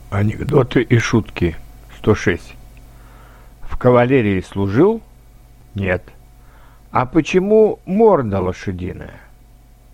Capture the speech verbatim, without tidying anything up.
Анекдоты и шутки. сто шесть. В кавалерии служил? Нет. А почему морда лошадиная?